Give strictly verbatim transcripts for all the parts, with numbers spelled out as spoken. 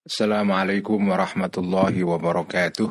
Assalamualaikum warahmatullahi wabarakatuh.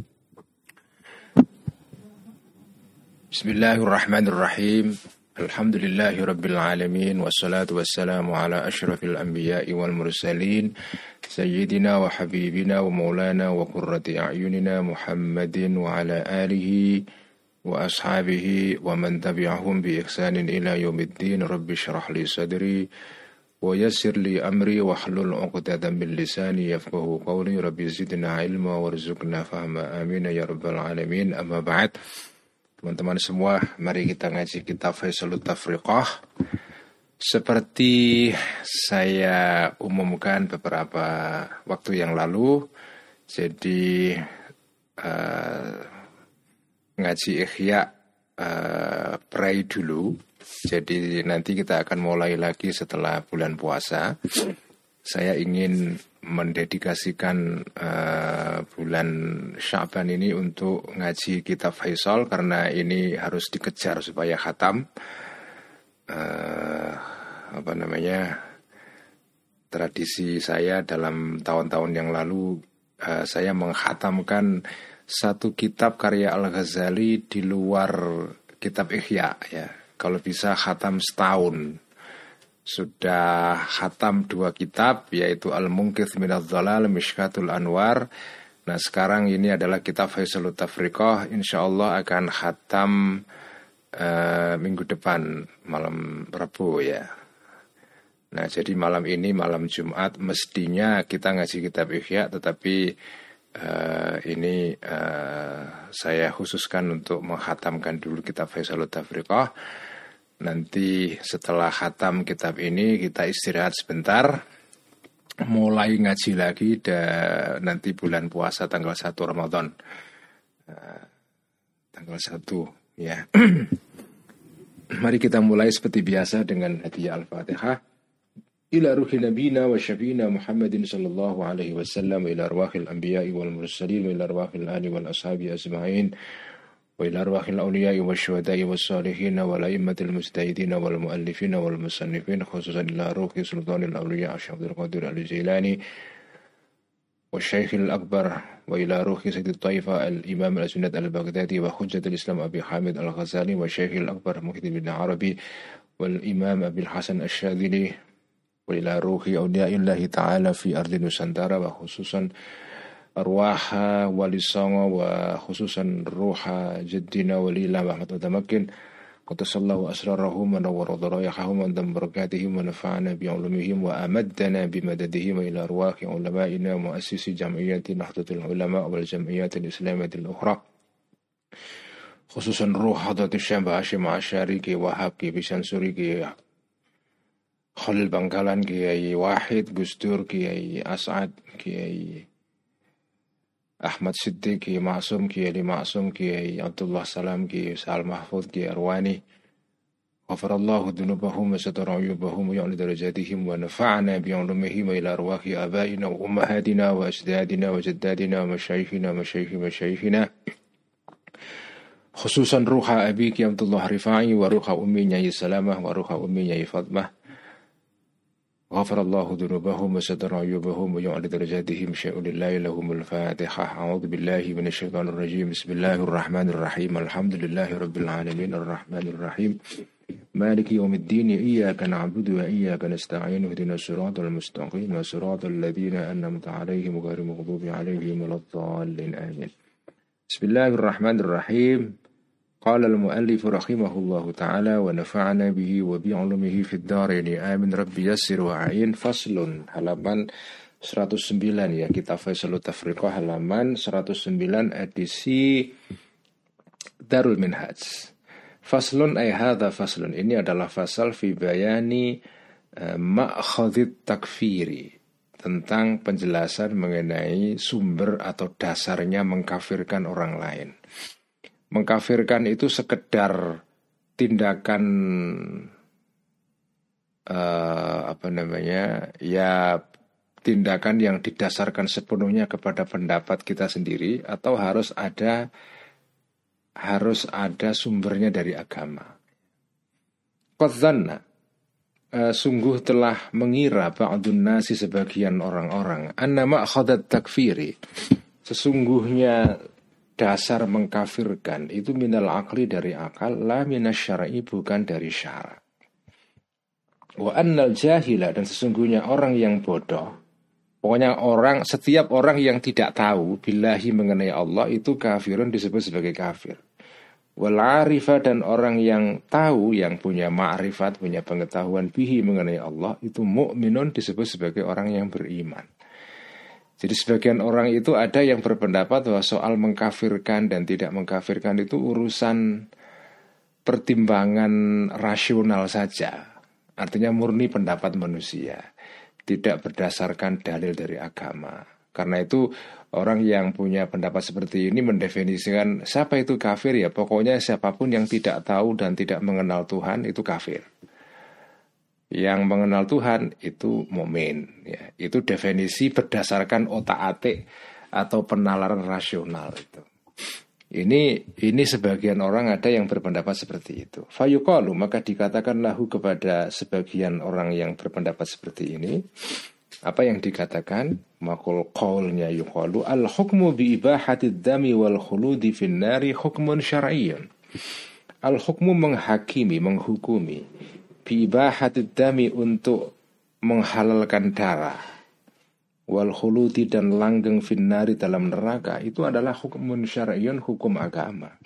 Bismillahirrahmanirrahim. Alhamdulillahi rabbil alamin. Wassalatu wassalamu ala ashrafil anbiya'i wal mursalin. Sayyidina wa habibina wa maulana wa qurrati a'yunina Muhammadin wa ala alihi wa ashabihi wa man tabi'ahum bi ihsanin ila yaumiddin. Rabbi syrah li sadri wa yassir li amri wa hlul 'uqdatam min lisani yafqahu qawli. Rabbi zidna ilma warzuqna fahma, amin ya rabbal alamin. Amma ba'd. Teman-teman semua, mari kita ngaji kitab Faisalut Tafriqah. Seperti saya umumkan beberapa waktu yang lalu, jadi uh, ngaji Ihya uh, pray dulu. Jadi nanti kita akan mulai lagi setelah bulan puasa. Saya ingin mendedikasikan uh, bulan Sya'ban ini untuk ngaji kitab Faisal, karena ini harus dikejar supaya khatam. Uh, apa namanya, tradisi saya dalam tahun-tahun yang lalu, uh, saya mengkhatamkan satu kitab karya Al-Ghazali di luar kitab Ihya, ya. Kalau bisa khatam setahun. Sudah khatam dua kitab, yaitu Al-Munqidh Minadh Dhalal, Mishkatul Anwar. Nah sekarang ini adalah kitab Faisalut Tafriqah. InsyaAllah akan khatam uh, minggu depan, malam Rabu, ya. Nah jadi malam ini, malam Jumat, mestinya kita ngaji kitab Ihya, tetapi uh, ini uh, saya khususkan untuk menghatamkan dulu kitab Faisalut Tafriqah. Nanti setelah khatam kitab ini kita istirahat sebentar, mulai ngaji lagi dan nanti bulan puasa tanggal satu Ramadan, uh, tanggal satu, ya. Mari kita mulai seperti biasa dengan hadiah Al-Fatihah. Ila ruhi nabina wa syafina Muhammadin sallallahu alaihi wasallam, ila arwahil anbiya'i wal mursalin, ila arwahil ali wal ashabi ajma'in, wa ila arwahil awliya'i wa syuhada'i wa salihin wa la'immatil mujtahidin wal muallifin wal musannifin, khususan ila ruhi sultanil awliya' Syabdul Qadir al-Jilani wa syekhil akbar, wa ila ruhi sayyidit taifa al-imam al-sunnat al-Baghdadi wa hujjatul islam Abi Hamid al-Ghazali wa syekhil akbar Muhyiddin bin Arabi wal imam Abil Hasan al-Syadili wa ila ruhi awliya'illahi ta'ala fi ardi Nusantara, wa khususan arwaha wali songo, wa khususan ruha jaddina walila Muhammad Mutamakin, qatasallahu asrarahum wa nawwara darayahum wa dam barakatihim wa nafa'ana bi'ulumihim wa amaddana bimadadihim, wa ila arwahi ulama'ina muassisi jam'iyyati Nahdlatul Ulama wal jam'iyyatil islamiyatil ukhra, khususan ruh Hadratus Syekh Hashim Asy'ari, Ki Wahab, Ki Bisansuri, Ki Khalil Bangkalan, Kiai Wahid, Gustur, Kiai As'ad, Kiai Ahmad Siddiq, Kiai Ma'sum, Kiai Ali Ma'sum, Kiai Abdullah Salam, Kiai Sa'al Mahfud, Kiai Arwani. Ghafarallahu dhunubahum wa satara uyubahum wa ya'li darajatihim wa nafa'ana bi'ulumihim wa ila arwahi abaina wa ummahatina wa ajdadina wa jaddadina wa masyayikhina wa masyayikhi masyayikhina, khususan ruha abi Kiai Abdullah Rifai wa ruha ummi Nyai Salamah wa ruha ummi Nyai Fatmah. Ghafarallahu dhunubahum wa satara uyubahum wa ya'li darajatihim syai'ulillahi lahumul fatihah. A'udhu billahi minasyaitanir rajim. Bismillahirrahmanirrahim. Alhamdulillahi rabbil alamin. Ar-Rahmanirrahim. Maliki yawmiddin. Iyyaka na'budu wa iyyaka nasta'in. Ihdinas siratal mustaqim. Siratal ladzina an'amta 'alaihim ghairil maghdubi 'alaihim waladdallin. Amin. Bismillahirrahmanirrahim. Qala al-muallif rahimahullahu ta'ala wa nafa'ana bihi wa bi'ulumihi fid dharain. Amin. Rabbi yassir wa a'in. Faslun, halaman seratus sembilan, ya, kitab Faisalut Tafriqah halaman seratus sembilan edisi Darul Minhaj. Faslun ay hadza faslun, ini adalah fasal fi bayani uh, ma'khadhit takfiri, tentang penjelasan mengenai sumber atau dasarnya mengkafirkan orang lain. Mengkafirkan itu sekedar tindakan uh, apa namanya, ya, tindakan yang didasarkan sepenuhnya kepada pendapat kita sendiri, atau harus ada harus ada sumbernya dari agama. Qadzanna, uh, sungguh telah mengira ba'dun nasi sebagian orang-orang anna ma'khadat takfiri, sesungguhnya dasar mengkafirkan itu minal akli dari akal, la minas syar'i bukan dari syara. Wa annal jahila, dan sesungguhnya orang yang bodoh, pokoknya orang, setiap orang yang tidak tahu billahi mengenai Allah itu kafirun, disebut sebagai kafir. Wal arifah, dan orang yang tahu, yang punya ma'rifat, punya pengetahuan bihi mengenai Allah, itu mu'minun, disebut sebagai orang yang beriman. Jadi sebagian orang itu ada yang berpendapat bahwa soal mengkafirkan dan tidak mengkafirkan itu urusan pertimbangan rasional saja. Artinya murni pendapat manusia, tidak berdasarkan dalil dari agama. Karena itu orang yang punya pendapat seperti ini mendefinisikan siapa itu kafir, ya pokoknya siapapun yang tidak tahu dan tidak mengenal Tuhan itu kafir. Yang mengenal Tuhan itu mukmin, ya. Itu definisi berdasarkan otak-atik atau penalaran rasional itu. Ini ini sebagian orang ada yang berpendapat seperti itu. Fayuqalu, maka dikatakan lahu kepada sebagian orang yang berpendapat seperti ini, apa yang dikatakan? Maqul qaulnya yuqalu al hukmu bi ibahati dami wal khuludi fin nari hukmun syar'iyyun. Al hukmu menghakimi, menghukumi, bi ibahati dami untuk menghalalkan darah, wal khuludi dan langgeng finnari dalam neraka, itu adalah hukumun syar'iyyun, hukum agama.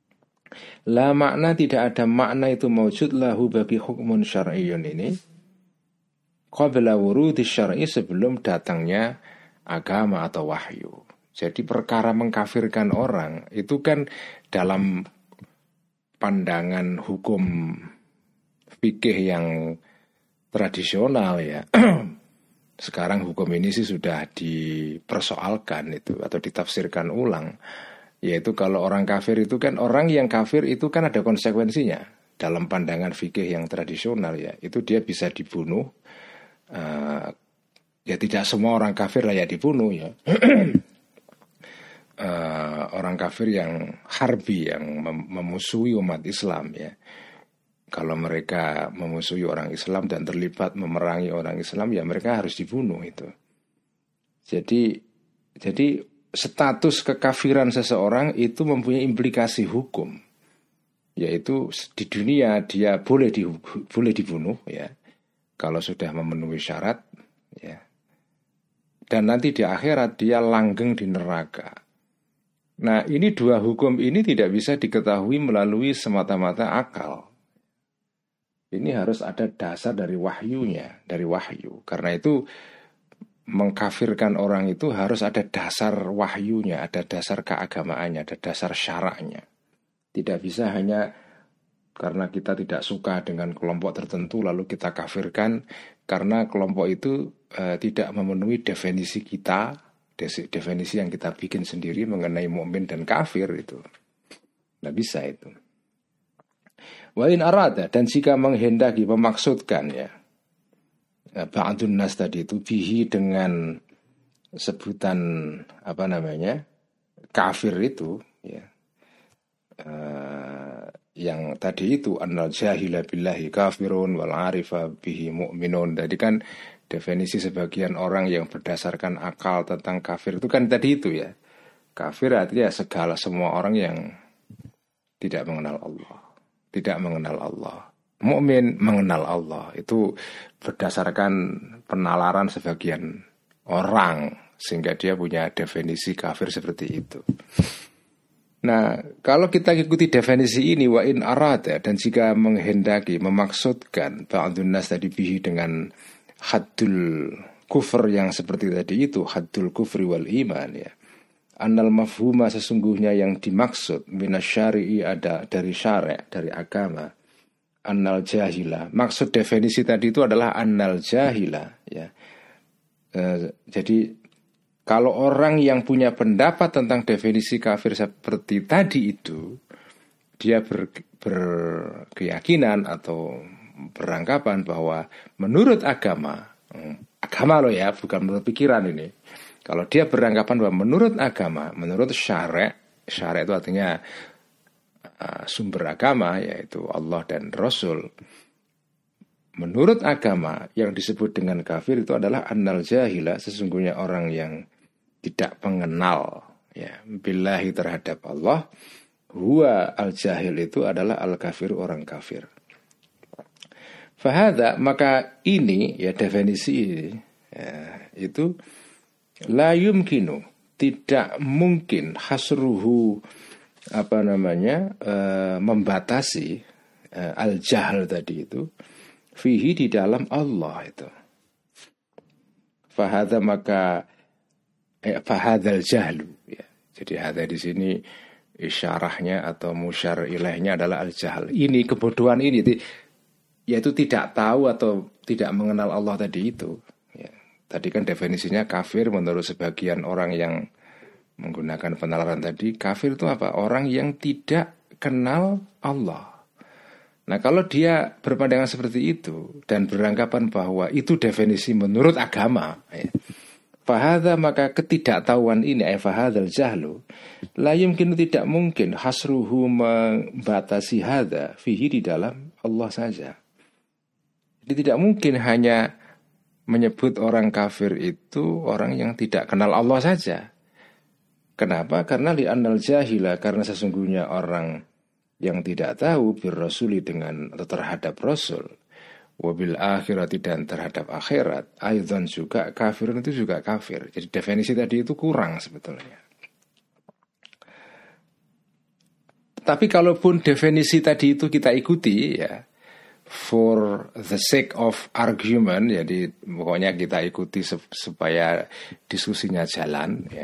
La makna, tidak ada makna itu mawjud lahu bagi hukumun syar'iyyun ini qabla wurudi syar'i, sebelum datangnya agama atau wahyu. Jadi perkara mengkafirkan orang itu kan dalam pandangan hukum fikih yang tradisional, ya. Sekarang hukum ini sih sudah dipersoalkan itu atau ditafsirkan ulang. Yaitu kalau orang kafir itu kan, orang yang kafir itu kan ada konsekuensinya. Dalam pandangan fikih yang tradisional, ya, itu dia bisa dibunuh. Uh, ya tidak semua orang kafir layak dibunuh, ya. uh, Orang kafir yang harbi, yang mem- memusuhi umat Islam, ya. Kalau mereka memusuhi orang Islam dan terlibat memerangi orang Islam, ya mereka harus dibunuh itu. Jadi, jadi status kekafiran seseorang itu mempunyai implikasi hukum, yaitu di dunia dia boleh di, boleh dibunuh, ya, kalau sudah memenuhi syarat, ya. Dan nanti di akhirat dia langgeng di neraka. Nah, ini dua hukum ini tidak bisa diketahui melalui semata-mata akal. Ini harus ada dasar dari wahyunya, dari wahyu. Karena itu mengkafirkan orang itu harus ada dasar wahyunya, ada dasar keagamaannya, ada dasar syaraknya. Tidak bisa hanya karena kita tidak suka dengan kelompok tertentu lalu kita kafirkan karena kelompok itu eh, tidak memenuhi definisi kita, definisi yang kita bikin sendiri mengenai mukmin dan kafir itu. Tidak bisa itu. Wa in arada, dan jika menghendaki, memaksudkan, ya, ba'dun nas tadi itu bihi dengan sebutan apa namanya kafir itu, ya, uh, yang tadi itu annal jahila billahi kafirun wal arifa bihi mu'minun. Jadi kan definisi sebagian orang yang berdasarkan akal tentang kafir itu kan tadi itu, ya. Kafir artinya segala semua orang yang tidak mengenal Allah, tidak mengenal Allah. Mukmin mengenal Allah. Itu berdasarkan penalaran sebagian orang, sehingga dia punya definisi kafir seperti itu. Nah, kalau kita ikuti definisi ini, wa in arada, dan jika menghendaki, memaksudkan ba'dun nas tadi bihi dengan haddul kufur yang seperti tadi itu, haddul kufri wal iman, ya. Annal mafhuma, sesungguhnya yang dimaksud minasyari'i, ada dari syari', dari agama. Annal jahila, maksud definisi tadi itu adalah annal jahila, ya. E, jadi kalau orang yang punya pendapat tentang definisi kafir seperti tadi itu, dia ber, berkeyakinan atau beranggapan bahwa menurut agama, agama loh ya, bukan menurut pikiran ini. Kalau dia beranggapan bahwa menurut agama, menurut syari', syari' itu artinya uh, sumber agama, yaitu Allah dan Rasul, menurut agama yang disebut dengan kafir itu adalah annal jahila, sesungguhnya orang yang tidak mengenal ya billahi terhadap Allah, huwa al jahil itu adalah al kafir, orang kafir. Fahada, maka ini ya definisi ini ya, itu la yumkinu, tidak mungkin hasruhu, apa namanya e, membatasi e, al jahl tadi itu fihi, di dalam Allah itu. Fahada, maka eh, fahadzal jahlu ya. Jadi hada di sini isyarahnya atau musyar ilaihnya adalah al jahl. Ini kebodohan ini, yaitu tidak tahu atau tidak mengenal Allah tadi itu ya. Tadi kan definisinya kafir menurut sebagian orang yang menggunakan penalaran tadi, kafir itu apa? Orang yang tidak kenal Allah. Nah, kalau dia berpandangan seperti itu dan beranggapan bahwa itu definisi menurut agama ya, fahadha, maka ketidaktahuan ini ay fahadzal jahlu la yumkinu, tidak mungkin hasruhu, membatasi hadza fihi, di dalam Allah saja. Jadi tidak mungkin hanya menyebut orang kafir itu orang yang tidak kenal Allah saja. Kenapa? Karena li'annal jahila, karena sesungguhnya orang yang tidak tahu bir rasuli, dengan atau terhadap rasul, wabil akhirati, dan terhadap akhirat, aidan juga kafirun, itu juga kafir. Jadi definisi tadi itu kurang sebetulnya. Tapi kalaupun definisi tadi itu kita ikuti ya, for the sake of argument, jadi pokoknya kita ikuti supaya diskusinya jalan ya.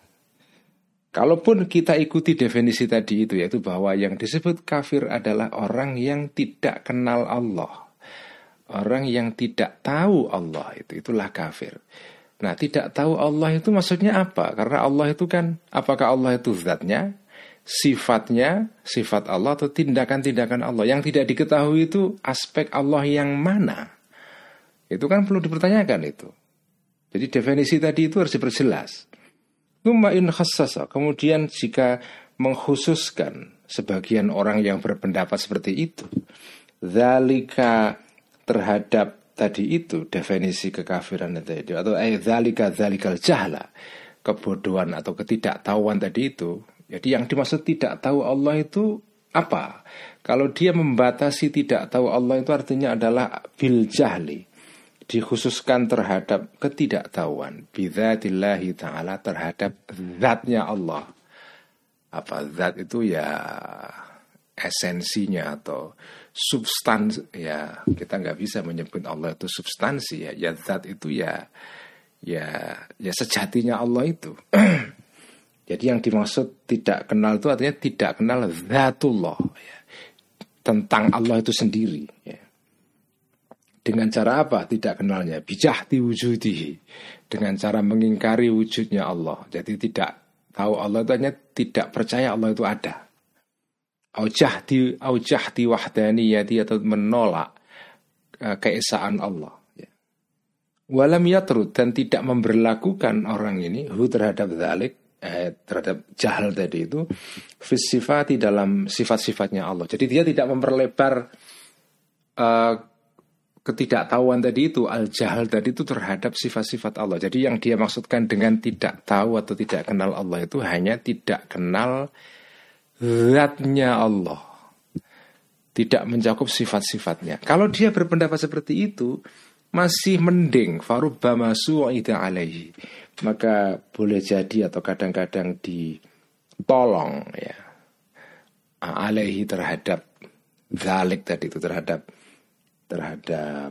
Kalaupun kita ikuti definisi tadi itu, yaitu bahwa yang disebut kafir adalah orang yang tidak kenal Allah, orang yang tidak tahu Allah, itu itulah kafir. Nah, tidak tahu Allah itu maksudnya apa? Karena Allah itu kan, apakah Allah itu zatnya, sifatnya, sifat Allah, atau tindakan-tindakan Allah? Yang tidak diketahui itu aspek Allah yang mana? Itu kan perlu dipertanyakan itu. Jadi definisi tadi itu harus diperjelas. Tsumma in khassasa, kemudian jika mengkhususkan sebagian orang yang berpendapat seperti itu, dzalika, terhadap tadi itu definisi kekafiran tadi, atau ay dzalika dzalikal jahla, kebodohan atau ketidaktahuan tadi itu. Jadi yang dimaksud tidak tahu Allah itu apa? Kalau dia membatasi tidak tahu Allah itu artinya adalah bil jahli, dikhususkan terhadap ketidaktahuan bidzatillahi ta'ala, terhadap zatnya Allah. Apa zat itu? Ya esensinya atau substansi ya. Kita nggak bisa menyebut Allah itu substansi ya. Ya zat itu ya ya ya sejatinya Allah itu. Jadi yang dimaksud tidak kenal itu artinya tidak kenal zatullah ya, tentang Allah itu sendiri ya. Dengan cara apa tidak kenalnya? Bijahti wujudihi, dengan cara mengingkari wujudnya Allah. Jadi tidak tahu Allah itu hanya tidak percaya Allah itu ada. Aujahti aujahti wahdaniyati, atau menolak uh, keesaan Allah. Ya. Walam yatrud, dan tidak memberlakukan orang ini hu terhadap dzalik, eh, terhadap jahal tadi itu, fis sifati, dalam sifat-sifatnya Allah. Jadi dia tidak memperlebar uh, ketidaktahuan tadi itu, al-jahal tadi itu terhadap sifat-sifat Allah. Jadi yang dia maksudkan dengan tidak tahu atau tidak kenal Allah itu hanya tidak kenal zatnya Allah, tidak mencakup sifat-sifatnya. Kalau dia berpendapat seperti itu masih mending, farubbama su'ida alaihi, maka boleh jadi atau kadang-kadang ditolong ya alaihi, terhadap dzalik tadi itu, terhadap terhadap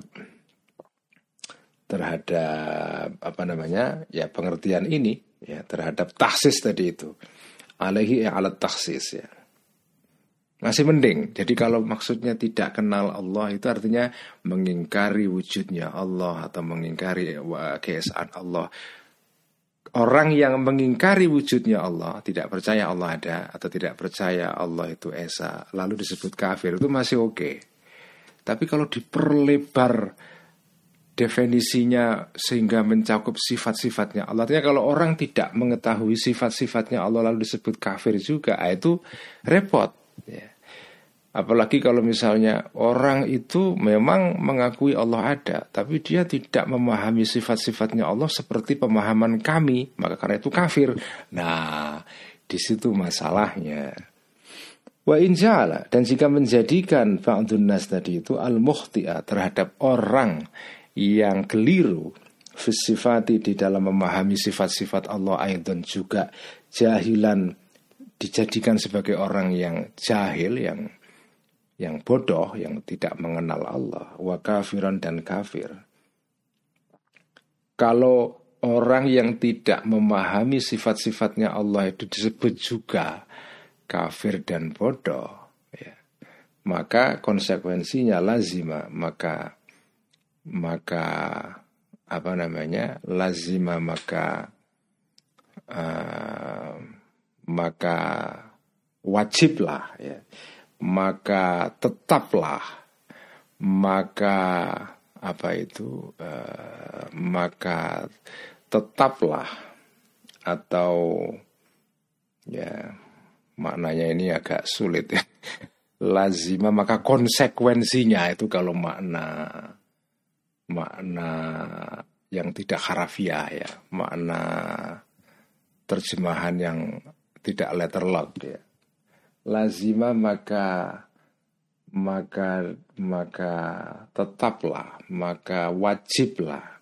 terhadap apa namanya ya pengertian ini ya, terhadap taksis tadi itu, alaihi alat taksis ya, masih mending. Jadi kalau maksudnya tidak kenal Allah itu artinya mengingkari wujudnya Allah atau mengingkari keesaan Allah. Orang yang mengingkari wujudnya Allah, tidak percaya Allah ada atau tidak percaya Allah itu esa, lalu disebut kafir, itu masih oke. Okay. Tapi kalau diperlebar definisinya sehingga mencakup sifat-sifatnya Allah, artinya kalau orang tidak mengetahui sifat-sifatnya Allah lalu disebut kafir juga, itu repot ya. Apalagi kalau misalnya orang itu memang mengakui Allah ada, tapi dia tidak memahami sifat-sifatnya Allah seperti pemahaman kami, maka karena itu kafir. Nah, di situ masalahnya. Wa inja'ala, dan jika menjadikan ba'dun nas tadi itu al-mukhti'a terhadap orang yang keliru fisifati di dalam memahami sifat-sifat Allah, aidan juga jahilan, dijadikan sebagai orang yang jahil, yang yang bodoh, yang tidak mengenal Allah, wa kafiran, dan kafir. Kalau orang yang tidak memahami sifat-sifatnya Allah itu disebut juga kafir dan bodoh, ya, maka konsekuensinya lazima, maka maka apa namanya lazima maka uh, maka wajiblah, ya, maka tetaplah, maka apa itu uh, maka tetaplah, atau ya maknanya ini agak sulit ya. Lazima maka konsekuensinya itu, kalau makna makna yang tidak harafiah, ya, makna terjemahan yang tidak letter lock, ya. Lazima maka maka maka tetaplah, maka wajiblah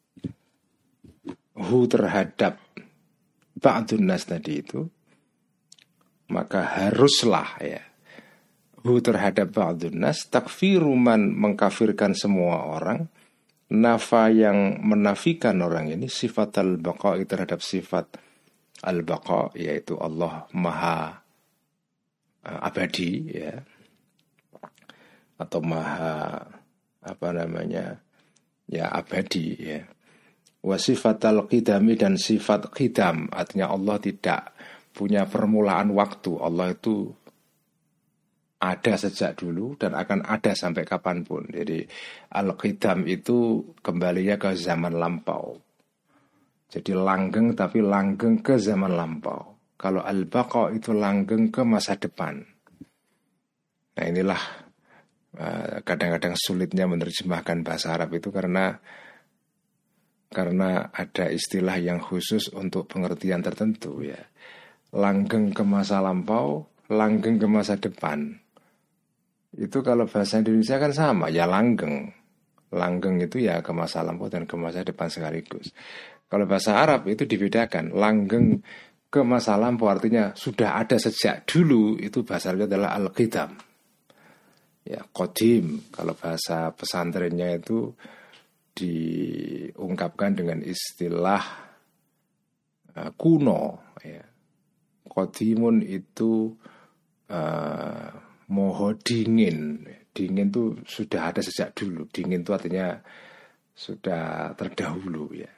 hu terhadap ba'dun nas tadi itu, maka haruslah, ya, hu terhadap ba'dun nas takfiru man, mengkafirkan semua orang, nafa yang menafikan orang ini sifat al-baqa, terhadap sifat al-baqa, yaitu Allah maha abadi, ya, atau maha apa namanya ya abadi, ya. Wa sifatal qidami, dan sifat qidam, artinya Allah tidak punya permulaan waktu. Allah itu ada sejak dulu dan akan ada sampai kapanpun. Jadi al-qidam itu kembalinya ke zaman lampau. Jadi langgeng, tapi langgeng ke zaman lampau. Kalau al-baqa itu langgeng ke masa depan. Nah, inilah uh, kadang-kadang sulitnya menerjemahkan bahasa Arab itu, karena karena ada istilah yang khusus untuk pengertian tertentu, ya. Langgeng ke masa lampau, langgeng ke masa depan. Itu kalau bahasa Indonesia kan sama, ya langgeng. Langgeng itu ya ke masa lampau dan ke masa depan sekaligus. Kalau bahasa Arab itu dibedakan. Langgeng ke masa lampau artinya sudah ada sejak dulu, itu bahasa Arabnya adalah al-qidam. Ya, qadim. Kalau bahasa pesantrennya itu diungkapkan dengan istilah uh, kuno, ya. Qadimun itu uh, moho dingin. Dingin itu sudah ada sejak dulu. Dingin itu artinya sudah terdahulu, ya.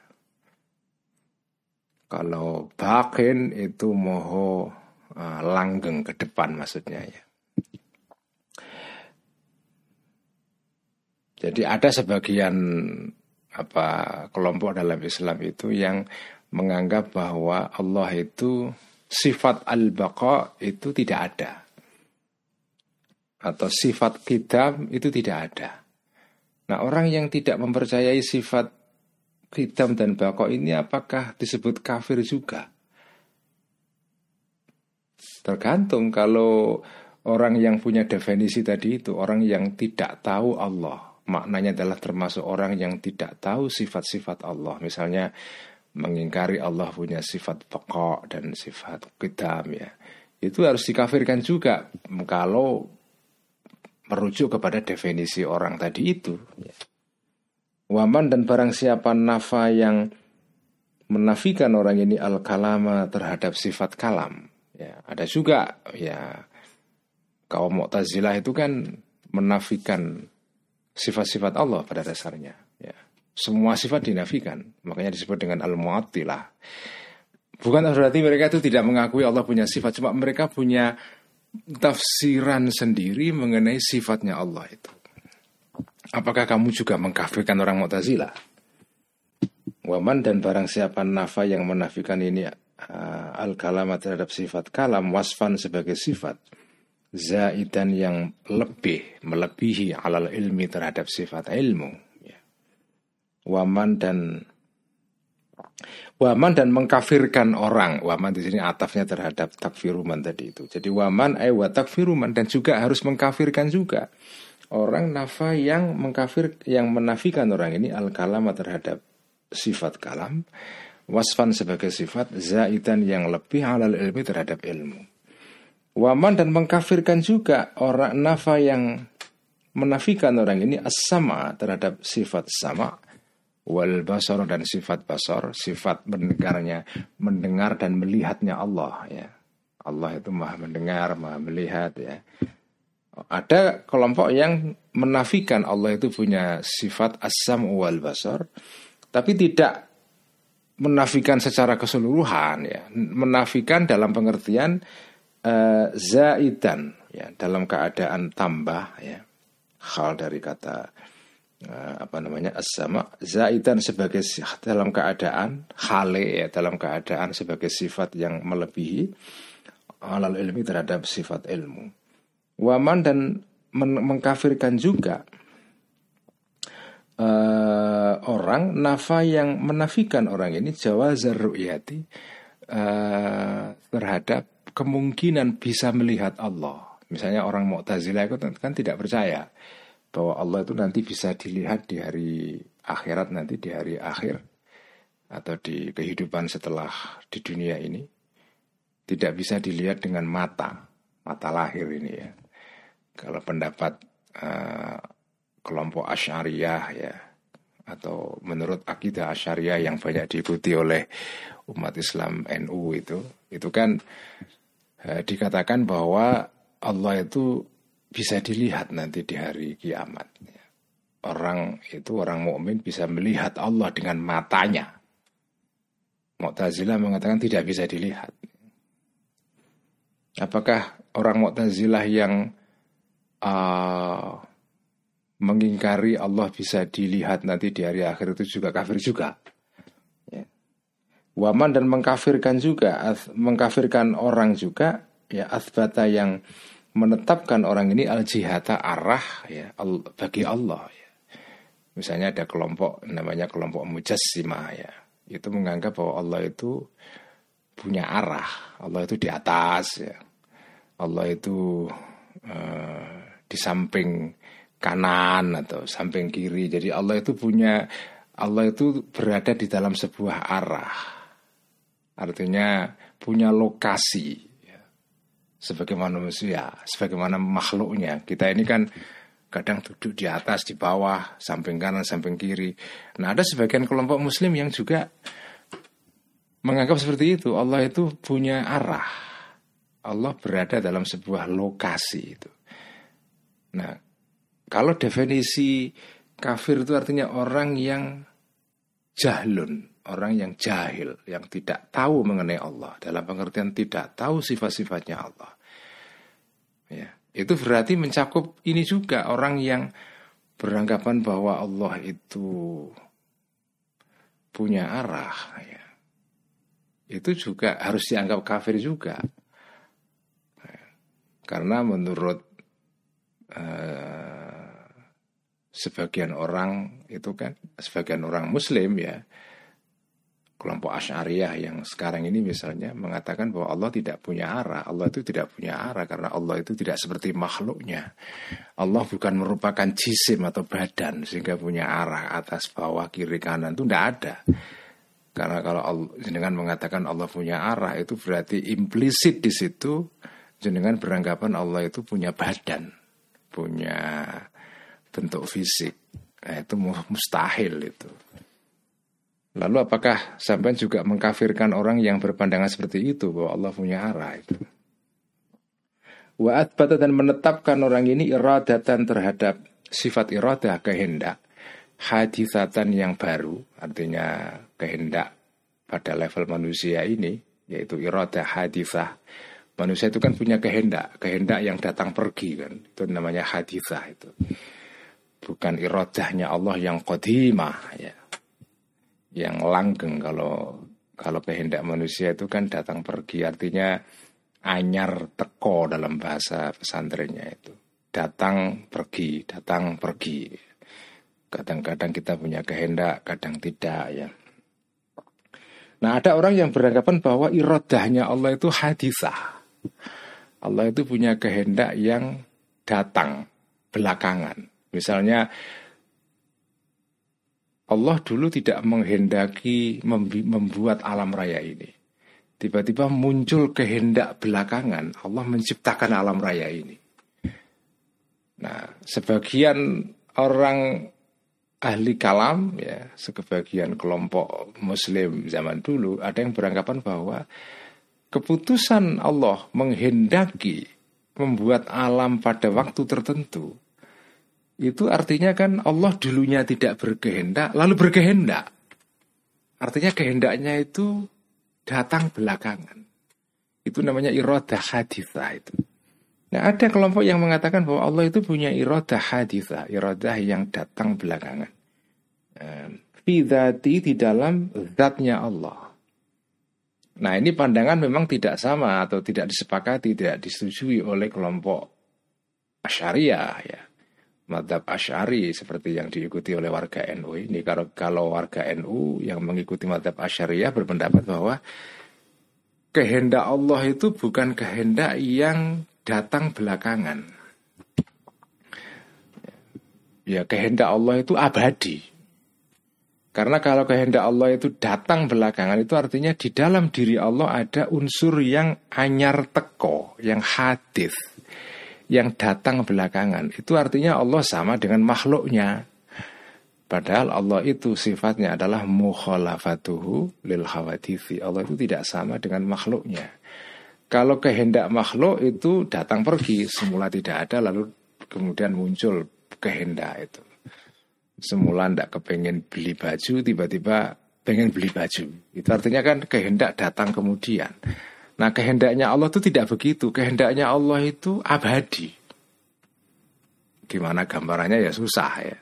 Kalau bakin itu moho uh, langgeng ke depan maksudnya, ya. Jadi ada sebagian apa kelompok dalam Islam itu yang menganggap bahwa Allah itu sifat al-baqa itu tidak ada, atau sifat qidam itu tidak ada. Nah, orang yang tidak mempercayai sifat qidam dan baqa ini apakah disebut kafir juga? Tergantung. Kalau orang yang punya definisi tadi itu orang yang tidak tahu Allah, maknanya adalah termasuk orang yang tidak tahu sifat-sifat Allah. Misalnya mengingkari Allah punya sifat baqa dan sifat qidam, ya. Itu harus dikafirkan juga kalau merujuk kepada definisi orang tadi itu, ya. Waman, dan barang siapa nafa yang menafikan orang ini al-kalama terhadap sifat kalam, ya. Ada juga, ya, kaum Mu'tazilah itu kan menafikan sifat-sifat Allah pada dasarnya, ya. Semua sifat dinafikan, makanya disebut dengan al-mu'attilah. Bukan berarti mereka itu tidak mengakui Allah punya sifat, cuma mereka punya tafsiran sendiri mengenai sifatnya Allah itu. Apakah kamu juga mengkafirkan orang Mu'tazilah? Waman, dan barang siapa nafa yang menafikan ini uh, al-kalama terhadap sifat kalam, wasfan sebagai sifat, zaidan yang lebih, melebihi alal ilmi terhadap sifat ilmu, ya. Waman dan waman dan mengkafirkan orang. Waman di sini atafnya terhadap takfiruman tadi itu. Jadi waman ay wa takfiruman, dan juga harus mengkafirkan juga orang nafa yang mengkafir, yang menafikan orang ini al kalama terhadap sifat kalam, wasfan sebagai sifat, zaidan yang lebih alal ilmi terhadap ilmu. Waman dan mengkafirkan juga orang nafa yang menafikan orang ini as-sama terhadap sifat sama, wal basar dan sifat basar, sifat mendengarnya, mendengar dan melihatnya Allah, ya. Allah itu maha mendengar, maha melihat, ya. Ada kelompok yang menafikan Allah itu punya sifat as-sam wal basar, tapi tidak menafikan secara keseluruhan, ya. Menafikan dalam pengertian uh, zaidan, ya, dalam keadaan tambah, ya. Hal dari kata Uh, apa namanya as-sama, zaidan sebagai dalam keadaan khale, ya, dalam keadaan sebagai sifat yang melebihi alal ilmi terhadap sifat ilmu. Waman dan men- mengkafirkan juga uh, orang nafa yang menafikan orang ini jawazar ru'yati, uh, terhadap kemungkinan bisa melihat Allah. Misalnya orang Mu'tazilah itu kan tidak percaya bahwa Allah itu nanti bisa dilihat di hari akhirat, nanti di hari akhir atau di kehidupan setelah di dunia ini. Tidak bisa dilihat dengan mata, mata lahir ini, ya. Kalau pendapat uh, kelompok Asy'ariyah, ya, atau menurut akidah Asy'ariyah yang banyak diikuti oleh umat Islam N U itu, itu kan uh, dikatakan bahwa Allah itu bisa dilihat nanti di hari kiamat. Orang itu, orang mukmin bisa melihat Allah dengan matanya. Mu'tazilah mengatakan tidak bisa dilihat. Apakah orang Mu'tazilah yang uh, mengingkari Allah bisa dilihat nanti di hari akhir itu juga kafir juga? Ya. Waman dan mengkafirkan juga, mengkafirkan orang juga, ya, athbata yang menetapkan orang ini al-jihata arah, ya, al, bagi Allah, ya. Misalnya ada kelompok namanya kelompok Mujassimah, ya. Itu menganggap bahwa Allah itu punya arah, Allah itu di atas, ya. Allah itu uh, di samping kanan atau samping kiri. Jadi Allah itu punya, Allah itu berada di dalam sebuah arah. Artinya punya lokasi. Sebagaimana manusia, sebagaimana makhluknya. Kita ini kan kadang duduk di atas, di bawah, samping kanan, samping kiri. Nah, ada sebagian kelompok muslim yang juga menganggap seperti itu. Allah itu punya arah. Allah berada dalam sebuah lokasi itu. Nah, kalau definisi kafir itu artinya orang yang jahlun, orang yang jahil, yang tidak tahu mengenai Allah, dalam pengertian tidak tahu sifat-sifatnya Allah, ya, itu berarti mencakup ini juga orang yang beranggapan bahwa Allah itu punya arah, ya. Itu juga harus dianggap kafir juga, ya. Karena menurut uh, sebagian orang itu kan, sebagian orang Muslim, ya, kelompok Asy'ariyah yang sekarang ini misalnya mengatakan bahwa Allah tidak punya arah. Allah itu tidak punya arah karena Allah itu tidak seperti makhluknya. Allah bukan merupakan jisim atau badan sehingga punya arah atas, bawah, kiri, kanan, itu tidak ada. Karena kalau Allah, dengan mengatakan Allah punya arah, itu berarti implisit di situ jenengan beranggapan Allah itu punya badan, punya bentuk fisik. Nah, itu mustahil itu. Lalu apakah sampai juga mengkafirkan orang yang berpandangan seperti itu bahwa Allah punya arah itu? Wa athbata dan menetapkan orang ini iradatan terhadap sifat iradah, kehendak, hadithatan yang baru, artinya kehendak pada level manusia ini, yaitu iradah hadithah. Manusia itu kan punya kehendak, kehendak yang datang pergi kan, itu namanya hadithah itu. Bukan iradahnya Allah yang qadimah, ya, yang langgeng. Kalau kalau kehendak manusia itu kan datang pergi, artinya anyar teko dalam bahasa pesantrennya itu. Datang pergi, datang pergi. Kadang-kadang kita punya kehendak, kadang tidak ya. Nah, ada orang yang beranggapan bahwa iradahnya Allah itu hadisah. Allah itu punya kehendak yang datang belakangan. Misalnya Allah dulu tidak menghendaki membuat alam raya ini. Tiba-tiba muncul kehendak belakangan, Allah menciptakan alam raya ini. Nah, sebagian orang ahli kalam, ya, sebagian kelompok Muslim zaman dulu ada yang beranggapan bahwa keputusan Allah menghendaki membuat alam pada waktu tertentu itu artinya kan Allah dulunya tidak berkehendak lalu berkehendak. Artinya kehendaknya itu datang belakangan. Itu namanya iradah hadithah itu. Nah, ada kelompok yang mengatakan bahwa Allah itu punya iradah hadithah, iradah yang datang belakangan. Fi dzati, di dalam zatnya Allah. Nah, ini pandangan memang tidak sama atau tidak disepakati, tidak disetujui oleh kelompok Asy'ariyah ya. Madzhab Asy'ari seperti yang diikuti oleh warga N U ini. Kalau kalau warga N U yang mengikuti madzhab Asy'ariyah berpendapat bahwa kehendak Allah itu bukan kehendak yang datang belakangan. Ya, kehendak Allah itu abadi. Karena kalau kehendak Allah itu datang belakangan, itu artinya di dalam diri Allah ada unsur yang anyar teko, yang hadis, yang datang belakangan. Itu artinya Allah sama dengan makhluknya. Padahal Allah itu sifatnya adalah mukhalafatuhu lil hawadithi. Allah itu tidak sama dengan makhluknya. Kalau kehendak makhluk itu datang pergi, semula tidak ada lalu kemudian muncul kehendak itu. Semula tidak kepengen beli baju, tiba-tiba pengen beli baju. Itu artinya kan kehendak datang kemudian. Nah, kehendaknya Allah itu tidak begitu. Kehendaknya Allah itu abadi. Gimana gambarannya ya susah ya.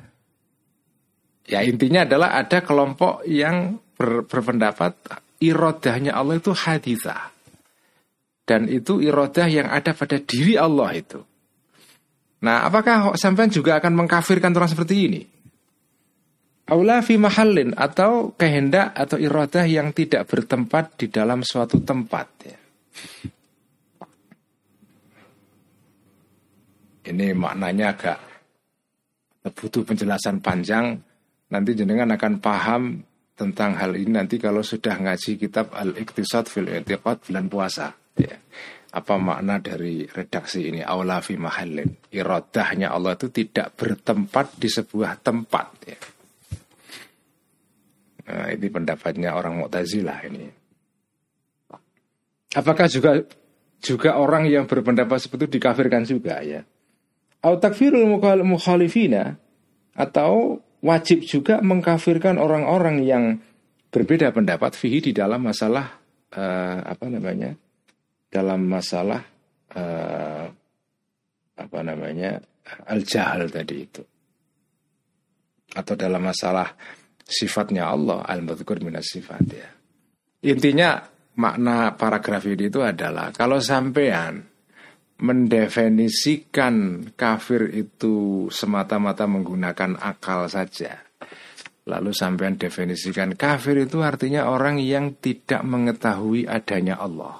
Ya intinya adalah ada kelompok yang ber, berpendapat iradahnya Allah itu hadithah. Dan itu iradah yang ada pada diri Allah itu. Nah, apakah sampean juga akan mengkafirkan orang seperti ini? Aula fi mahallin, atau kehendak atau iradah yang tidak bertempat di dalam suatu tempat ya. Ini maknanya agak butuh penjelasan panjang. Nanti jenengan akan paham tentang hal ini nanti kalau sudah ngaji kitab Al-Iqtisad fil I'tiqad bulan puasa ya. Apa makna dari redaksi ini? Aula fi mahallin, iradahnya Allah itu tidak bertempat di sebuah tempat ya. Nah, ini pendapatnya orang Mu'tazilah ini. Apakah juga juga orang yang berpendapat seperti itu dikafirkan juga ya? Au takfirul mukhalifina, atau wajib juga mengkafirkan orang-orang yang berbeda pendapat fihi di dalam masalah uh, apa namanya? Dalam masalah uh, apa namanya? al-jahal tadi itu. Atau dalam masalah sifatnya Allah, al-madhkur minas sifat ya. Intinya makna paragraf ini itu adalah kalau sampean mendefinisikan kafir itu semata-mata menggunakan akal saja, lalu sampean definisikan kafir itu artinya orang yang tidak mengetahui adanya Allah.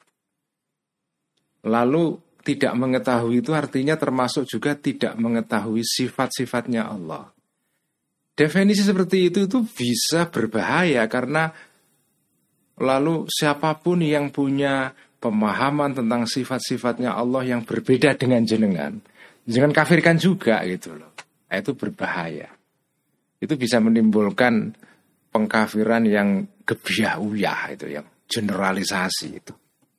Lalu tidak mengetahui itu artinya termasuk juga tidak mengetahui sifat-sifatnya Allah. Definisi seperti itu itu bisa berbahaya karena lalu siapapun yang punya pemahaman tentang sifat-sifatnya Allah yang berbeda dengan jenengan, jangan kafirkan juga gitu loh. Nah, itu berbahaya. Itu bisa menimbulkan pengkafiran yang gebyah-uyah itu, yang generalisasi itu.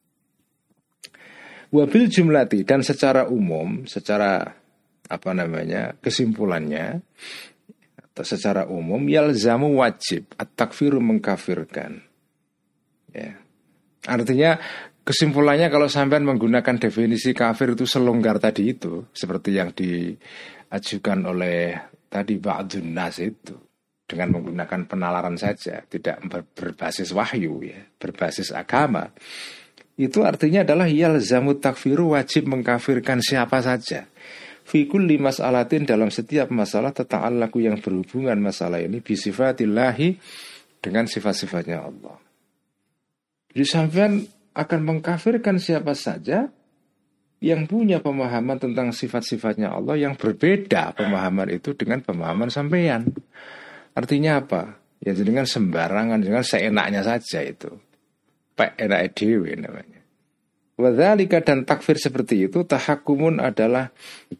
Wabil jumlati, dan secara umum, secara apa namanya kesimpulannya, atau secara umum yalzamu wajib at-takfiru mengkafirkan. Ya. Artinya kesimpulannya kalau sampean menggunakan definisi kafir itu selonggar tadi itu, seperti yang diajukan oleh tadi ba'dun nas itu, dengan menggunakan penalaran saja, tidak berbasis wahyu ya, berbasis agama. Itu artinya adalah yalzamut takfiru, wajib mengkafirkan siapa saja. Fi kulli mas'alatin, dalam setiap masalah tata'allaqu yang berhubungan masalah ini bisifatillahi, dengan sifat-sifatnya Allah. Jadi sampean akan mengkafirkan siapa saja yang punya pemahaman tentang sifat-sifatnya Allah yang berbeda pemahaman itu dengan pemahaman sampean. Artinya apa? Ya dengan sembarangan, dengan seenaknya saja itu. Pak enak dewe namanya. Wadzalika, dan takfir seperti itu tahakkumun adalah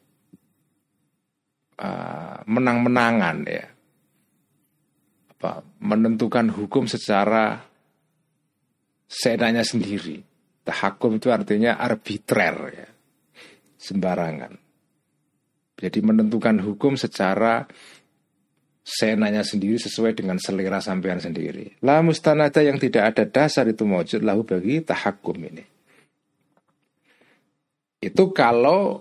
uh, menang-menangan ya. Apa? Menentukan hukum secara seenaknya sendiri. Tahakkum itu artinya arbitrer ya. Sembarangan. Jadi menentukan hukum secara seenaknya sendiri sesuai dengan selera sampean sendiri. La mustanada, yang tidak ada dasar itu mawjud lahu bagi tahakkum ini. Itu kalau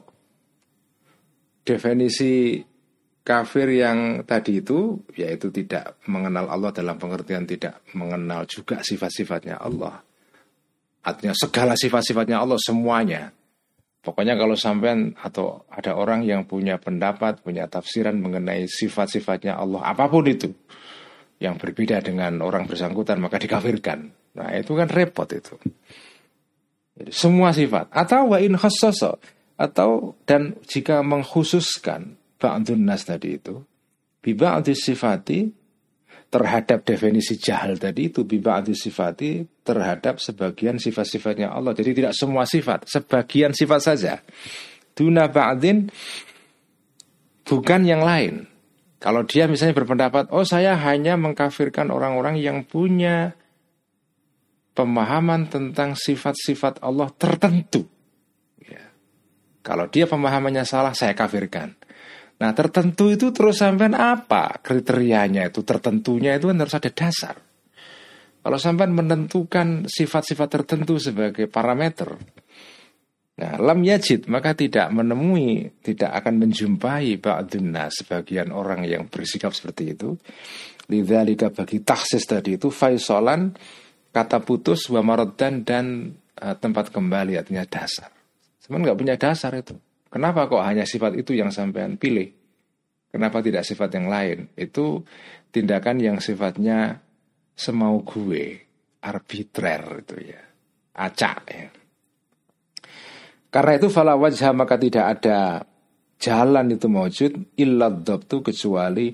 definisi kafir yang tadi itu, yaitu tidak mengenal Allah dalam pengertian tidak mengenal juga sifat-sifatnya Allah. Artinya segala sifat-sifatnya Allah semuanya. Pokoknya kalau sampean atau ada orang yang punya pendapat, punya tafsiran mengenai sifat-sifatnya Allah, apapun itu, yang berbeda dengan orang bersangkutan, maka dikafirkan. Nah itu kan repot itu. Jadi, semua sifat. Atau wa in khassasa, atau dan jika mengkhususkan ba'dun nas tadi itu, bi ba'di sifati, terhadap definisi jahal tadi itu, bi ba'di sifati, terhadap sebagian sifat-sifatnya Allah. Jadi tidak semua sifat, sebagian sifat saja. Duna ba'din, bukan yang lain. Kalau dia misalnya berpendapat, oh saya hanya mengkafirkan orang-orang yang punya pemahaman tentang sifat-sifat Allah tertentu ya. Kalau dia pemahamannya salah, saya kafirkan. Nah tertentu itu terus sampean apa kriterianya itu? Tertentunya itu kan harus ada dasar. Kalau sampean menentukan sifat-sifat tertentu sebagai parameter, nah lam yajid, maka tidak menemui, tidak akan menjumpai ba'dun nas, sebagian orang yang bersikap seperti itu. Lidzalika, bagi taksis tadi itu, faisolan, kata putus, wa maraddan, dan uh, tempat kembali, artinya dasar. Sebenarnya nggak punya dasar itu. Kenapa kok hanya sifat itu yang sampean pilih? Kenapa tidak sifat yang lain? Itu tindakan yang sifatnya semau gue, arbitrer itu ya, acak ya. Karena itu fala wajha, maka tidak ada jalan itu mawjud illa dhabtu, kecuali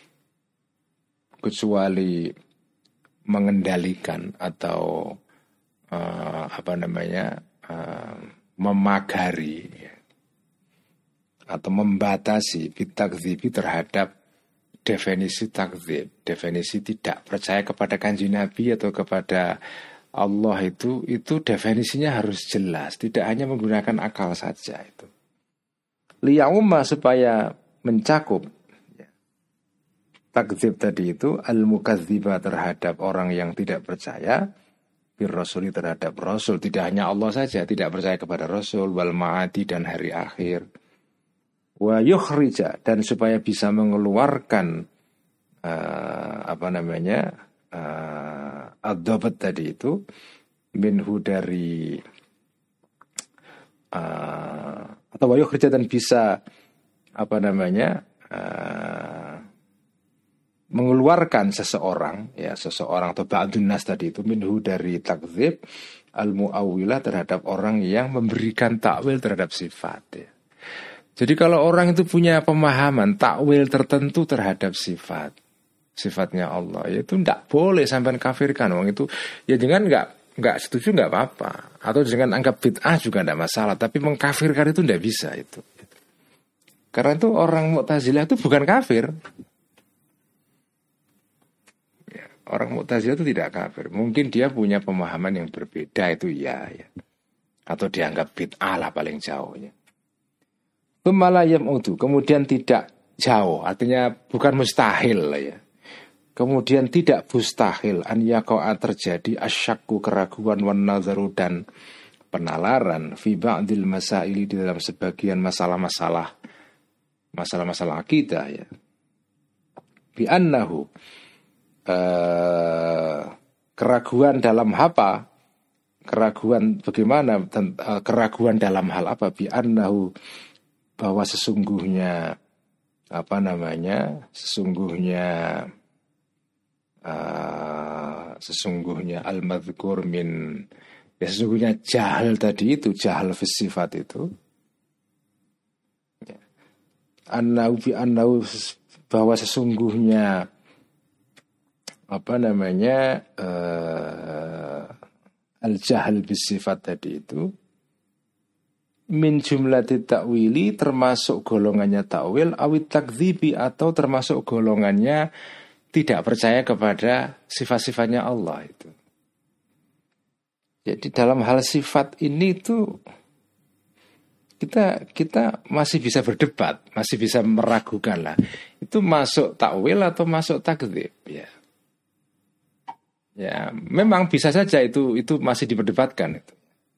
kecuali mengendalikan atau uh, apa namanya uh, memagari ya, atau membatasi bitakdzibi, terhadap definisi takdzib, definisi tidak percaya kepada kanjeng Nabi atau kepada Allah itu, itu definisinya harus jelas, tidak hanya menggunakan akal saja itu. Liyaumma, supaya mencakup ya, takdzib tadi itu al-mukadziba, terhadap orang yang tidak percaya, bir rasuli, terhadap Rasul, tidak hanya Allah saja, tidak percaya kepada Rasul, wal ma'adi, dan hari akhir. Wa yukhrija, dan supaya bisa mengeluarkan uh, apa namanya uh, ad-dhabat tadi itu minhu, dari uh, atau wa yukhrija, dan bisa apa namanya uh, mengeluarkan seseorang ya, seseorang atau ba'dun nas tadi itu minhu, dari takdzib al-mu'awwilah, terhadap orang yang memberikan takwil terhadap sifat ya. Jadi kalau orang itu punya pemahaman takwil tertentu terhadap sifat, sifatnya Allah, ya itu tidak boleh sampai kafirkan orang itu. Ya jangan nggak nggak setuju nggak apa-apa, atau jangan anggap bid'ah juga tidak masalah. Tapi mengkafirkan itu tidak bisa itu. Karena itu orang Mu'tazilah itu bukan kafir. Ya, orang Mu'tazilah itu tidak kafir. Mungkin dia punya pemahaman yang berbeda, itu ya, ya. Atau dianggap bid'ah lah paling jauhnya. Pemalayam itu kemudian tidak jauh, artinya bukan mustahil ya. Kemudian tidak mustahil an yaqa'a, terjadi asyakku, keraguan, wan nazaru, dan penalaran fi ba'dil masaili, di dalam sebagian masalah-masalah masalah-masalah akidah ya. Bi annahu uh, keraguan dalam apa? Keraguan bagaimana? Keraguan dalam hal apa? Bi annahu, bahwa sesungguhnya apa namanya? Sesungguhnya uh, sesungguhnya al-madhkur min, ya sesungguhnya jahal tadi itu, jahal fi sifat itu. Ya. Annahu bi annahu, bahwa sesungguhnya apa namanya? Uh, al-jahal bisifat tadi itu min jumlati ta'wili, termasuk golongannya ta'wil, awit takdzibi, atau termasuk golongannya tidak percaya kepada sifat-sifatnya Allah itu. Jadi dalam hal sifat ini itu kita kita masih bisa berdebat, masih bisa meragukan lah. Itu masuk ta'wil atau masuk takdzib, ya. Ya, memang bisa saja itu itu masih diperdebatkan itu.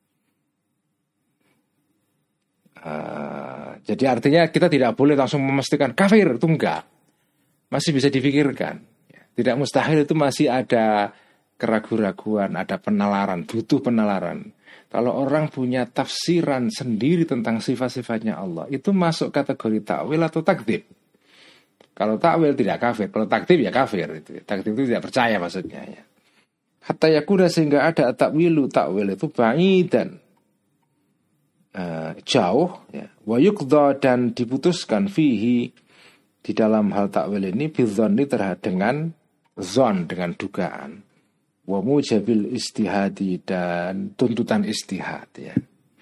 Uh, jadi artinya kita tidak boleh langsung memastikan kafir, itu enggak. Masih bisa dipikirkan. Tidak mustahil, itu masih ada keraguan-raguan, ada penalaran, butuh penalaran. Kalau orang punya tafsiran sendiri tentang sifat-sifatnya Allah, itu masuk kategori takwil atau takdzib. Kalau takwil tidak kafir, kalau takdzib ya kafir. Itu. Takdzib itu tidak percaya maksudnya ya. Hatta yakuda, sehingga ada takwilu, takwil itu ba'idan, uh, jauh ya. Wa yuqdha, dan diputuskan fihi, di dalam hal takwil ini, bidzanni, terhadap dengan zon, dengan dugaan, wa mujabil istihadi, dan tuntutan istihad ya.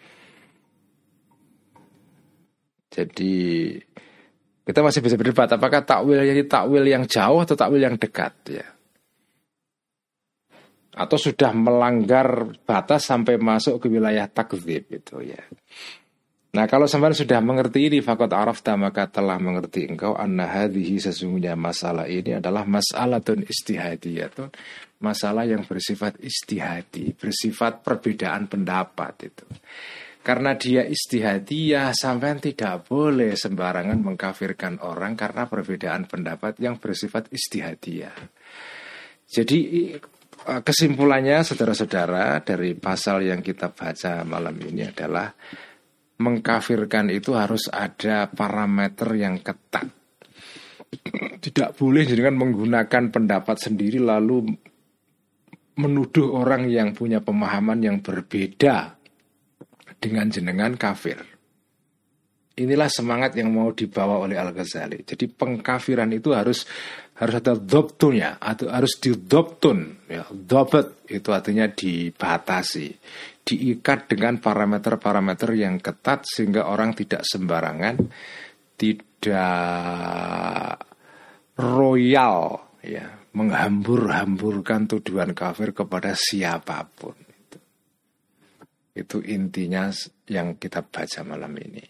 Jadi kita masih bisa berdebat apakah takwil jadi takwil yang jauh atau takwil yang dekat ya. Atau sudah melanggar batas sampai masuk ke wilayah takdzib itu ya. Nah, kalau sampai sudah mengerti ini, faqad arafta, maka telah mengerti engkau, anna hadhihi, sesungguhnya masalah ini adalah mas'alatun istihadiyatun, masalah yang bersifat istihadi, bersifat perbedaan pendapat itu. Karena dia istihadiyah, sampean tidak boleh sembarangan mengkafirkan orang karena perbedaan pendapat yang bersifat istihadiyah. Jadi kesimpulannya, saudara-saudara, dari pasal yang kita baca malam ini adalah mengkafirkan itu harus ada parameter yang ketat. Tidak boleh dengan menggunakan pendapat sendiri lalu menuduh orang yang punya pemahaman yang berbeda dengan jenengan kafir. Inilah semangat yang mau dibawa oleh Al-Ghazali. Jadi pengkafiran itu harus harus ada dhabtunya, atau harus didhabtun ya. Dhabt itu artinya dibatasi, diikat dengan parameter-parameter yang ketat sehingga orang tidak sembarangan, tidak royal ya, menghambur-hamburkan tuduhan kafir kepada siapapun. Itu, itu intinya yang kita baca malam ini.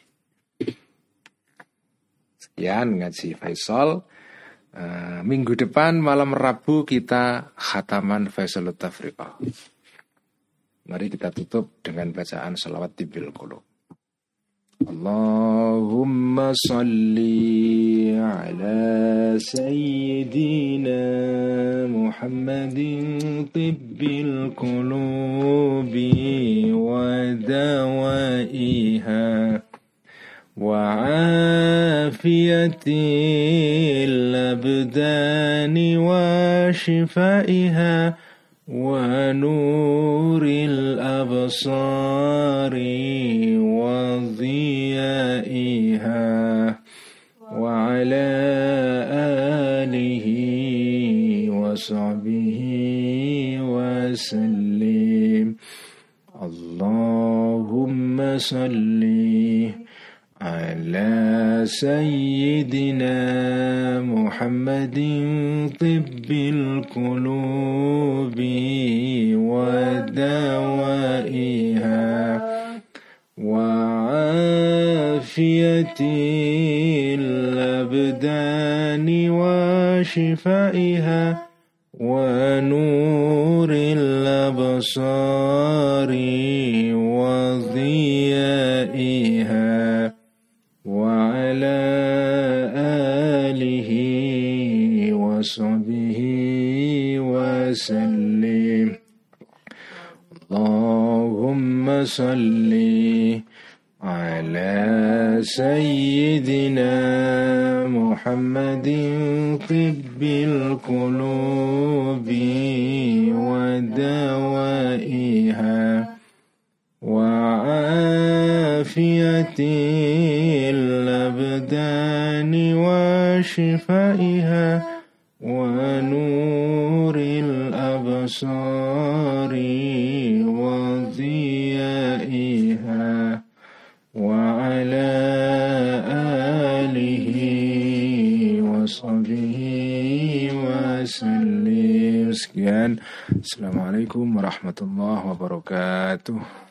Sekian ngaji Faisal. Uh, minggu depan malam Rabu kita khataman Faisalut Tafriqah. Mari kita tutup dengan bacaan salawat Tibbil Qulub. Allahumma salli ala sayyidina Muhammadin tibbil qulubi wa dawaiha وعافية الأبدان وشفائها ونور الأبصار وضيائها وعلى آله وصحبه وسلم اللهم صل على سيدنا محمد طب القلوب ودوائها وعافية الأبدان وشفائها ونور الأبصار وضيائها وعلى آله وصحبه وسلم. الله صل على سيدنا محمد طب القلوب ودوائها وعافية الأبدان وشفائها ونور الأبصار وضيائها وعلى آله وصحبه وسلم. Sekian. Assalamualaikum warahmatullahi wabarakatuh.